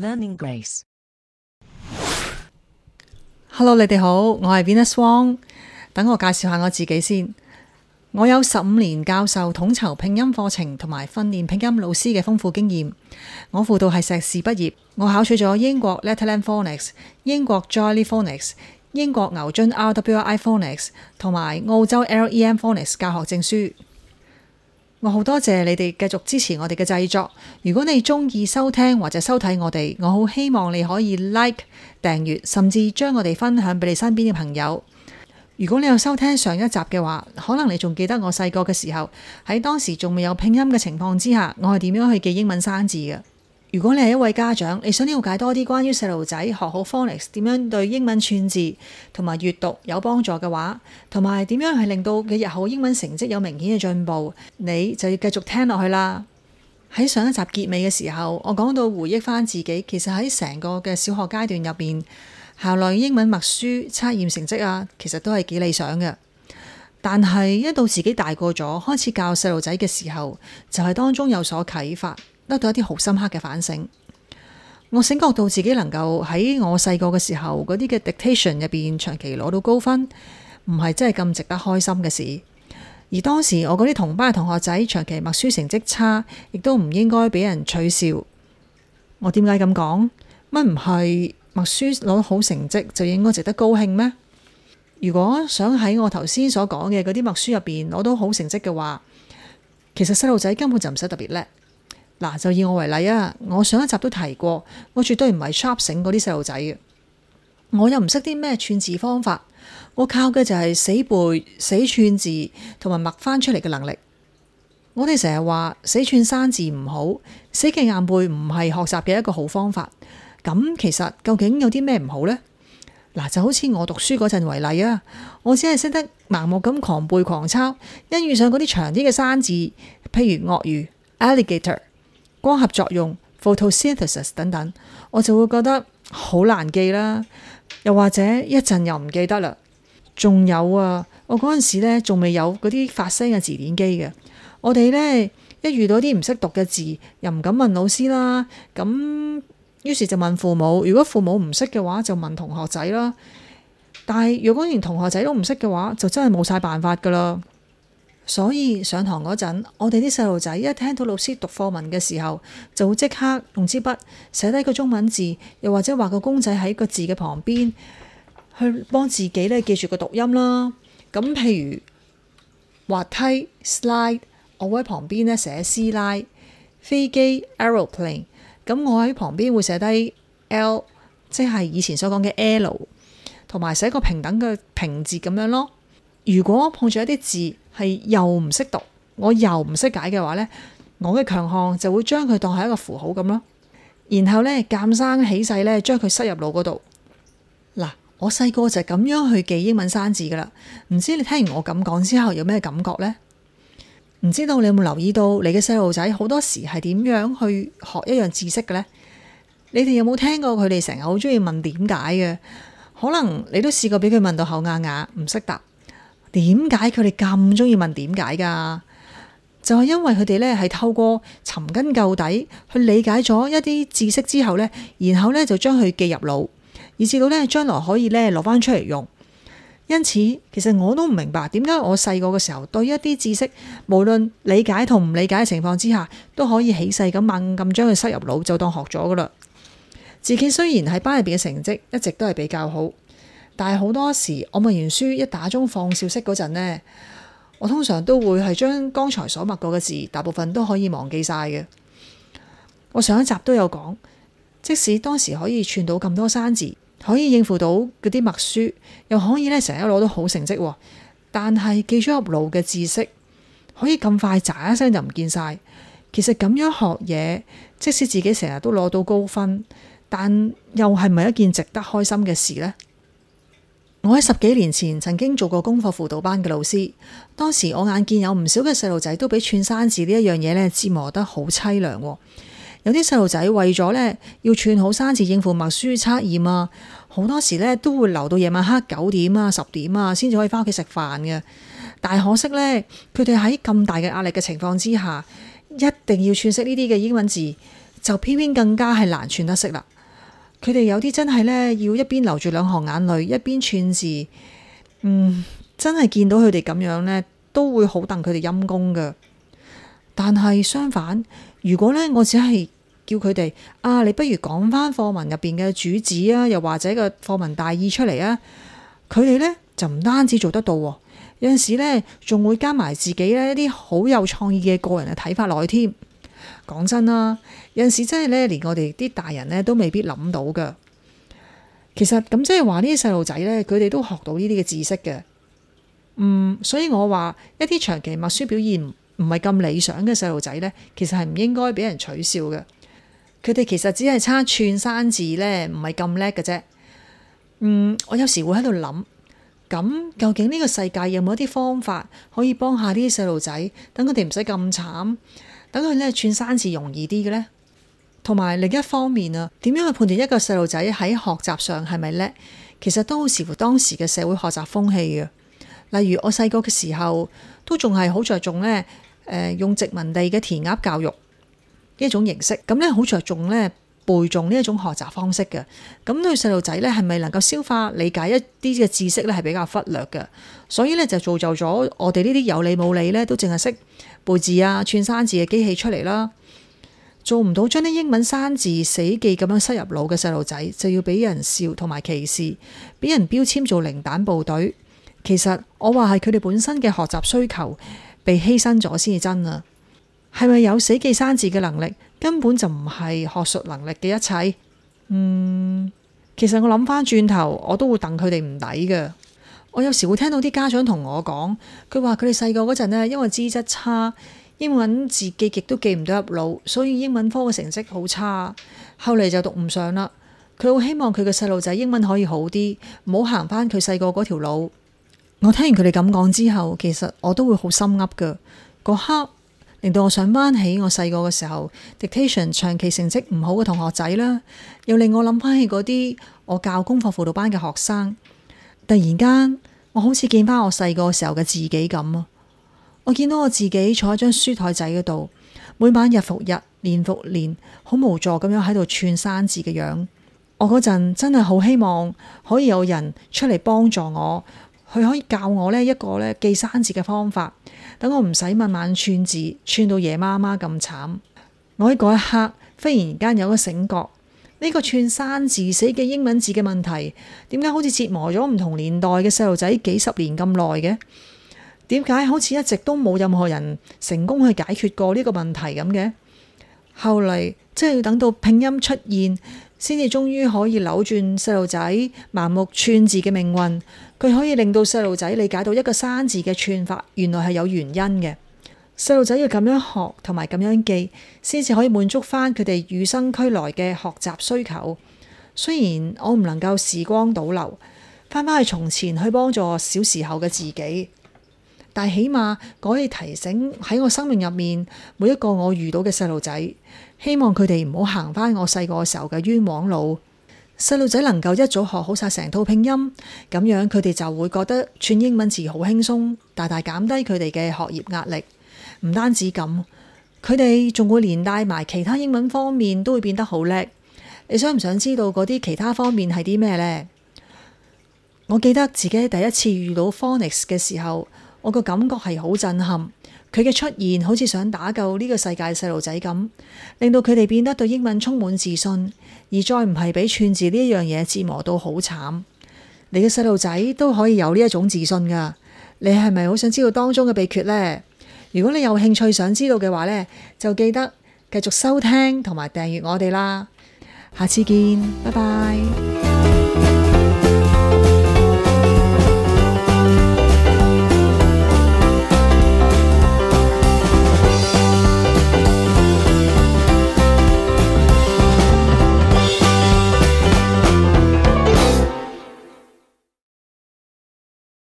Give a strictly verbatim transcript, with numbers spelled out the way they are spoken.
Learning Grace。 Hello， 你哋好，我係 Venus Wong。等我介紹下我自己先。我有十五年教授統籌拼音課程同埋訓練拼音老師嘅豐富經驗。我輔導係碩士畢業，我考取咗英國 Letterland Phonics、英國 Jolly Phonics、英國牛津 R W I Phonics 同埋澳洲 L E M Phonics 教學證書。我好多謝你哋繼續支持我哋嘅製作。如果你中意收聽或者收睇我哋，我好希望你可以 like、訂閱，甚至將我哋分享俾你身邊嘅朋友。如果你有收聽上一集嘅話，可能你仲記得我細個嘅時候，喺當時仲未有拼音嘅情況之下，我係點樣去記英文生字嘅。如果你係一位家長，你想了解多啲關於細路仔學好 phonics 點樣對英文串字同埋閱讀有幫助嘅話，同埋點樣去令到佢日後英文成績有明顯嘅進步，你就要繼續聽落去啦。喺上一集結尾嘅時候，我講到回憶翻自己，其實喺成個嘅小學階段入邊，校內英文默書測驗成績啊，其實都係幾理想嘅。但係一到自己大個咗，開始教細路仔嘅時候，就係當中有所啟發，得到一啲好深刻嘅反省。我醒覺到自己能夠喺我細個嘅時候嗰啲嘅 dictation 入邊長期攞到高分，唔係真係咁值得開心嘅事。而當時我嗰啲同班嘅同學仔長期默書成績差，亦都唔應該俾人取笑。我點解咁講？乜唔係默書攞好成績就應該值得高興咩？如果想喺我頭先所講嘅嗰啲默書入邊攞到好成績嘅話，其實細路仔根本就唔使特別叻。嗱，就以我為例啊，我上一集都提過，我絕對唔係 sharp 醒嗰啲細路仔嘅，我又唔識啲咩串字方法，我靠嘅就係死背、死串字同埋默翻出嚟嘅能力。我哋成日話死串生字唔好，死記硬背唔係學習嘅一個好方法。咁其實究竟有啲咩唔好呢？嗱，就好似我讀書嗰陣為例啊，我只係識得盲目咁狂背狂抄，一遇上嗰啲長啲嘅生字，譬如鱷魚 alligator、光合作用 photosynthesis 等等，我就會覺得好難記啦。又或者一陣又唔記得啦。仲有啊，我嗰陣時咧仲未有嗰啲發聲嘅字典機嘅，我哋呢，一遇到啲唔識讀嘅字，又唔敢問老師啦，咁於是就問父母。如果父母唔識嘅話，就問同學仔啦。但係如果連同學仔都唔識嘅話，就真係冇晒辦法噶啦。所以上堂嗰陣，我哋啲細路仔一聽到老師讀課文嘅時候，就會即刻用支筆寫低個中文字，又或者畫個公仔喺個字嘅旁邊，去幫自己咧記住個讀音啦。咁譬如滑梯 slide， 我會喺旁邊咧寫師奶；飛機 aeroplane， 咁我喺旁邊會寫低 L， 即係以前所講嘅 L， 同埋寫個平等嘅平字咁樣咯。如果碰住一啲字係又唔識讀，我又唔識解嘅話呢，我嘅強項就會將佢當係一個符號咁咯，然後呢，鑑生起勢呢，將佢塞入腦嗰度。嗱，我細個就咁樣去記英文生字噶啦，唔知你聽完我咁講之後有咩感覺呢？唔知道你有冇留意到你嘅細路仔好多時係點樣去學一樣知識嘅呢？你哋有冇聽過佢哋成日好中意問點解嘅？可能你都試過俾佢問到口啞啞，唔識答。點解佢哋咁中意問點解噶？就係因為佢哋咧係透過尋根究底去理解咗一啲知識之後咧，然後咧就將佢記入腦，以至到咧將來可以咧攞翻出嚟用。因此，其實我都唔明白點解我細個嘅時候對一啲知識，無論理解同唔理解嘅情況之下，都可以起勢咁猛咁將佢塞入腦，就當學咗噶啦。自己雖然喺班入邊嘅成績一直都係比較好，但係好多時我默完書一打鐘放小息嗰陣呢，我通常都會係將剛才所默過嘅字大部分都可以忘記晒嘅。我上一集都有講，即使當時可以串到咁多生字，可以應付到嗰啲默書，又可以咧成日攞到好成績，但係記咗入腦嘅知識可以咁快喳一聲就唔見晒。其實咁樣學嘢，即使自己成日都攞到高分，但又係咪一件值得開心嘅事呢？我喺十幾年前曾經做過功課輔導班嘅老師，當時我眼見有唔少嘅細路仔都俾串生字呢一樣嘢咧折磨得好淒涼。有啲細路仔為咗咧要串好生字應付默書測驗啊，好多時咧都會留到夜晚黑九點啊、十點啊先至可以翻屋企食飯嘅。但係可惜咧，佢哋喺咁大嘅壓力嘅情況之下，一定要串識呢啲嘅英文字，就偏偏更加係難串得識啦。 佢哋有啲真係呢，要一邊流住兩行眼淚，一邊串字。嗯，真係見到佢哋咁樣呢，都會好戥佢哋陰功㗎。但係相反，如果呢，我只係叫佢哋啊，你不如講翻課文入邊嘅主旨啊，又或者個課文大意出嚟啊，佢哋呢，就唔單止做得到，有陣時呢仲會加埋自己呢一啲好有創意嘅個人嘅睇法落去添。講真啦，有陣時真係呢，連我哋啲大人呢都未必諗到㗎。其實咁即係話呢啲細路仔呢，佢哋都學到呢啲嘅知識嘅。嗯，所以我話一啲長期默書表現唔係咁理想嘅細路仔呢，其實係唔應該俾人取笑嘅。佢哋其實只係差串生字呢，唔係咁叻嘅啫。嗯，我有時會喺度諗，咁究竟呢個世界有冇一啲方法可以幫下呢啲細路仔，等佢哋唔使咁慘，等佢呢串生字容易啲嘅呢？同埋另一方面啊，點樣去判斷一個細路仔喺學習上係咪叻？其實都好視乎當時嘅社會學習風氣嘅。例如我細個嘅時候，都仲係好着重呢，誒、呃、用殖民地嘅填鴨教育呢一種形式，咁呢好着重呢背誦呢一種學習方式嘅。咁對細路仔呢，係咪能夠消化理解一啲嘅知識呢？係比較忽略嘅。所以呢，就造就咗我哋呢啲有理冇理呢，都淨係識背字啊、串生字嘅機器出嚟啦。做唔到將啲英文生字死記咁樣塞入腦嘅細路仔，就要俾人笑同埋歧視，俾人標籤做零蛋部隊。其實我話係佢哋本身嘅學習需求被犧牲咗先至真啊！係咪有死記生字嘅能力，根本就唔係學術能力嘅一切。嗯，其實我諗翻轉頭，我都會戥佢哋唔抵嘅。我有時會聽到啲家長同我講，佢話佢哋細個嗰陣呢，因為資質差，英文字記極都記唔到入腦，所以英文科嘅成績好差，後嚟就讀唔上啦。佢好希望佢嘅細路仔英文可以好啲，唔好行翻佢細個嗰條路。我聽完佢哋咁講之後，其實我都會好心噏㗎。嗰刻令到我想翻起我細個嘅時候 dictation 長期成績唔好嘅同學仔啦，又令我諗翻起嗰啲我教功課輔導班嘅學生。突然間，我好似見翻我細個時候嘅自己咁啊！我見到我自己坐喺張書台仔嗰度，每晚日復日，年復年，好無助咁樣喺度串生字嘅樣。我嗰陣真係好希望可以有人出嚟幫助我，佢可以教我呢一個呢記生字嘅方法，等我唔使晚晚串字，串到夜媽媽咁慘。我喺嗰一刻忽然間有個醒覺，呢個串生字死記英文字嘅問題，點解好似折磨咗唔同年代嘅細路仔幾十年咁耐嘅？點解好似一直都冇任何人成功去解決過呢個問題咁嘅？後嚟即係要等到拼音出現，先至終於可以扭轉細路仔盲目串字嘅命運。佢可以令到細路仔理解到一個生字嘅串法原來係有原因嘅。細路仔要咁樣學同埋咁樣記，先至可以滿足翻佢哋與生俱來嘅學習需求。雖然我唔能夠時光倒流，翻返去從前去幫助小時候嘅自己，但起碼可以提醒喺我生命入面每一個我遇到嘅細路仔，希望佢哋唔好行翻我細個時候嘅冤枉路。細路仔能夠一早學好晒成套拼音，咁樣佢哋就會覺得串英文字好輕鬆，大大減低佢哋嘅學業壓力。唔單止咁，佢哋仲會連帶埋其他英文方面都會變得好叻。你想唔想知道嗰啲其他方面係啲咩呢？我記得自己第一次遇到 phonics 嘅時候，我個感覺係好震撼。佢嘅出現好似想打救呢個世界細路仔咁，令到佢哋變得對英文充滿自信，而再唔係俾串字呢一樣嘢折磨到好慘。你嘅細路仔都可以有呢一種自信噶。你係咪好想知道當中嘅秘訣呢？如果你有興趣想知道嘅話呢，就記得繼續收聽同埋訂閱我哋啦。下次見，拜拜。